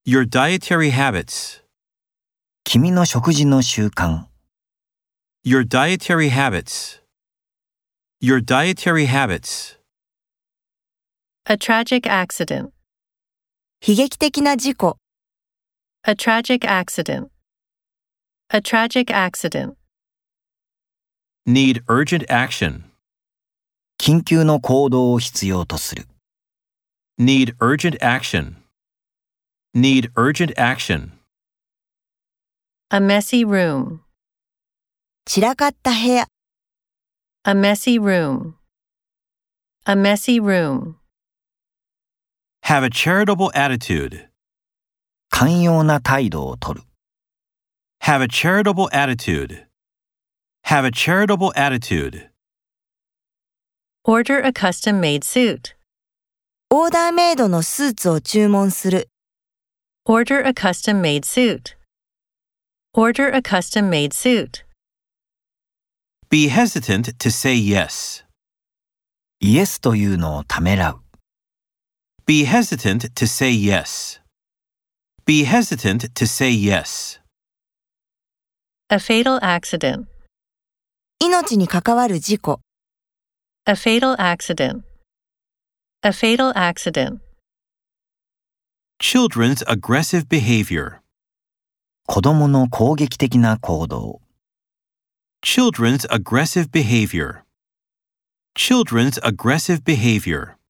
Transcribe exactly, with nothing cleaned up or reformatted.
Your dietary habits. 君の食事の習慣。 Your dietary habits. Your dietary habits. A tragic accident. 悲劇的な事故。 A tragic accident. A tragic accident. Need urgent action. 緊急の行動を必要とする。 Need urgent action. Need urgent action. A messy room. 散らかった部屋。 A messy room. A messy room. Have a charitable attitude. 寛容な態度をとる。 Have a charitable attitude. Have a charitable attitude. Order a custom-made suit. オーダーメイドのスーツを注文する。 Order a custom-made suit. Order a custom-made suit. Be hesitant to say yes. イエスというのをためらう。 Be hesitant to say yes. Be hesitant to say yes. A fatal accident. 命に関わる事故。 A fatal accident. A fatal accident. Children's aggressive behavior. 子供の攻撃的な行動。 Children's aggressive behavior. Children's aggressive behavior.